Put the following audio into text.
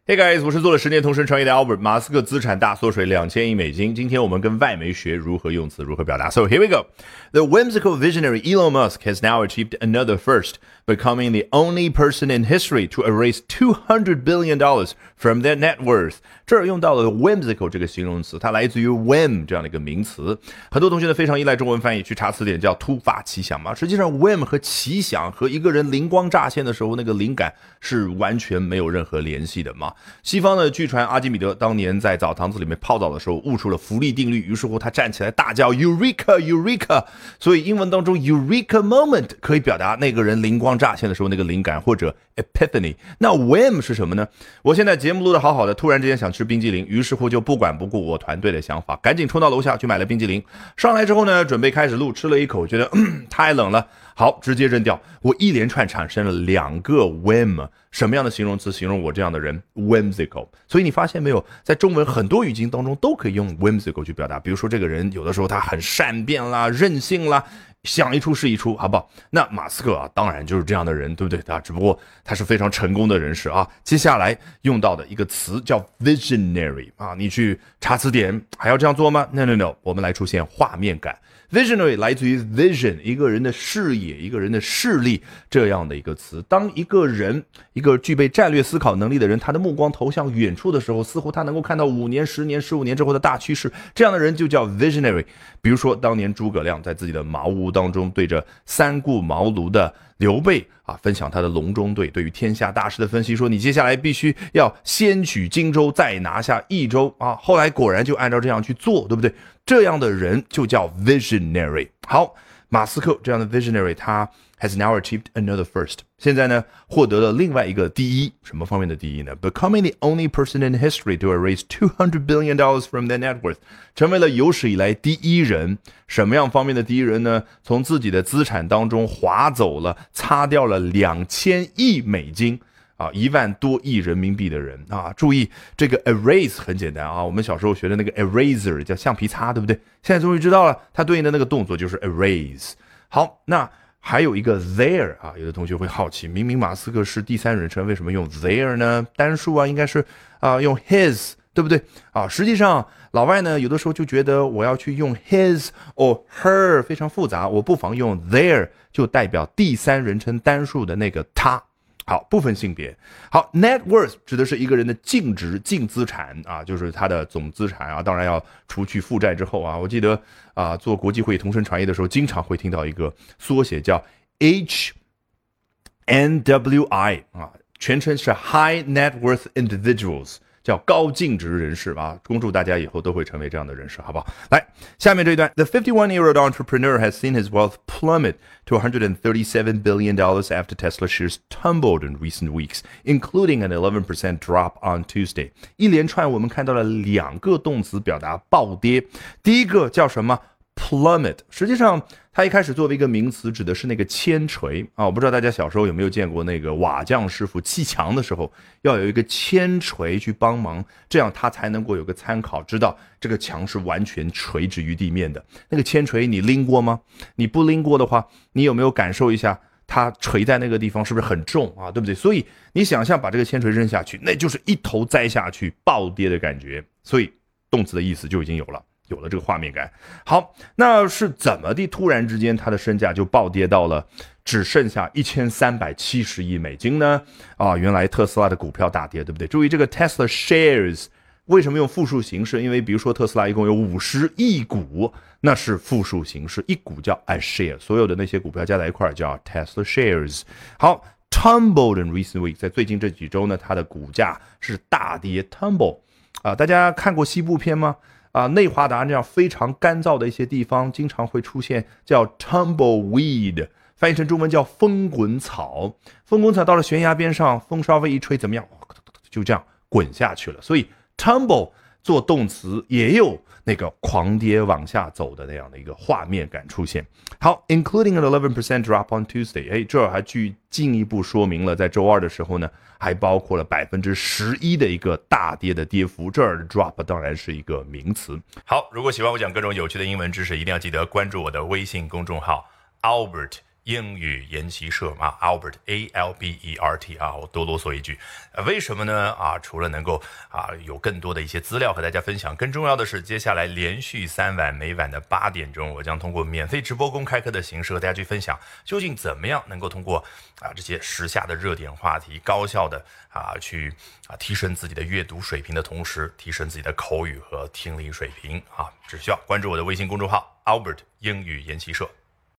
Hey guys， 我是做了10年同声传译的 Albert。马斯克资产大缩水2000亿美金。今天我们跟外媒学如何用词，如何表达。So here we go. The whimsical visionary Elon Musk has now achieved another first, becoming the only person in history to erase $200 billion from their net worth. 这儿用到了 whimsical 这个形容词，它来自于 whim 这样的一个名词。很多同学呢非常依赖中文翻译，去查词典叫突发奇想嘛。实际上 whim 和奇想和一个人灵光乍现的时候那个灵感是完全没有任何联系的嘛。西方呢，据传阿基米德当年在澡堂子里面泡澡的时候悟出了浮力定律，于是乎他站起来大叫 Eureka Eureka， 所以英文当中 Eureka moment 可以表达那个人灵光乍现的时候那个灵感，或者 Epiphany。 那 whim 是什么呢？我现在节目录得好好的，突然之间想吃冰激凌，于是乎就不管不顾我团队的想法，赶紧冲到楼下去买了冰激凌。上来之后呢，准备开始录，吃了一口觉得太冷了，好，直接扔掉。我一连串产生了2个 whim， 什么样的形容词形容我这样的人？ whimsical。 所以你发现没有，在中文很多语境当中都可以用 whimsical 去表达。比如说这个人有的时候他很善变啦，任性啦，想一出是一出，好不好？那马斯克啊，当然就是这样的人，对不对？他只不过他是非常成功的人士啊。接下来用到的一个词叫 visionary 啊，你去查词典还要这样做吗？ No， 我们来出现画面感。Visionary 来自于 vision， 一个人的视野，一个人的视力，这样的一个词。当一个人，一个具备战略思考能力的人，他的目光投向远处的时候，似乎他能够看到5年、10年、15年之后的大趋势，这样的人就叫 visionary。 比如说当年诸葛亮在自己的茅屋当中对着三顾茅庐的刘备啊，分享他的隆中对对于天下大势的分析，说你接下来必须要先取荆州，再拿下益州啊。后来果然就按照这样去做，对不对？这样的人就叫 visionary。 好，马斯克这样的 visionary， 他 has now achieved another first， 现在呢获得了另外一个第一。什么方面的第一呢？ Becoming the only person in history to erase $200 billion from their net worth， 成为了有史以来第一人。什么样方面的第一人呢？从自己的资产当中划走了，擦掉了2000亿美金啊，1万多亿人民币的人啊！注意这个 erase 很简单啊，我们小时候学的那个 eraser 叫橡皮擦，对不对？现在终于知道了，它对应的那个动作就是 erase。好，那还有一个 there 啊，有的同学会好奇，明明马斯克是第三人称，为什么用 there 呢？单数啊，应该是用 his， 对不对啊？实际上老外呢有的时候就觉得我要去用 his or her 非常复杂，我不妨用 there 就代表第三人称单数的那个他。好，不分性别。好 ，net worth 指的是一个人的净值、净资产啊，就是他的总资产啊，当然要除去负债之后啊。我记得啊，做国际会议同声传译的时候，经常会听到一个缩写叫 HNWI 啊，全称是 High Net Worth Individuals。叫高净值人士啊，恭祝大家以后都会成为这样的人士，好不好？来，下面这一段 ，The 51-year-old entrepreneur has seen his wealth plummet to $137 billion after Tesla shares tumbled in recent weeks, including an 11% drop on Tuesday。一连串我们看到了2个动词表达暴跌，第一个叫什么？plummet， 实际上它一开始作为一个名词指的是那个铅锤啊，我不知道大家小时候有没有见过那个瓦匠师傅砌墙的时候要有一个铅锤去帮忙，这样他才能够有个参考，知道这个墙是完全垂直于地面的。那个铅锤你拎过吗？你不拎过的话，你有没有感受一下它垂在那个地方是不是很重啊？对不对？所以你想象把这个铅锤扔下去，那就是一头栽下去暴跌的感觉，所以动词的意思就已经有了这个画面感。好，那是怎么的突然之间他的身价就暴跌到了只剩下1370亿美金呢？啊，原来特斯拉的股票大跌，对不对？注意这个 Tesla shares 为什么用复数形式？因为比如说特斯拉一共有50亿股，那是复数形式，一股叫 a share， 所有的那些股票加在一块叫 Tesla shares。好，tumbled in recent weeks， 在最近这几周呢，它的股价是大跌 tumble 啊，大家看过西部片吗？啊，内华达这样非常干燥的一些地方，经常会出现叫 tumbleweed， 翻译成中文叫风滚草。风滚草到了悬崖边上，风稍微一吹，怎么样？就这样滚下去了。所以 tumble 做动词也有那个狂跌往下走的那样的一个画面感出现。好 ，including an 11% drop on Tuesday， 这还进一步说明了，在周二的时候呢，还包括了11%的一个大跌的跌幅。这儿的 drop 当然是一个名词。好，如果喜欢我讲各种有趣的英文知识，一定要记得关注我的微信公众号 Albert 英语研习社啊 ，Albert Albert 啊，我多啰嗦一句，为什么呢？除了能够有更多的一些资料和大家分享，更重要的是，接下来连续3晚，每晚的8点钟，我将通过免费直播公开课的形式和大家去分享，究竟怎么样能够通过这些时下的热点话题，高效的去提升自己的阅读水平的同时，提升自己的口语和听力水平只需要关注我的微信公众号 Albert 英语研习社。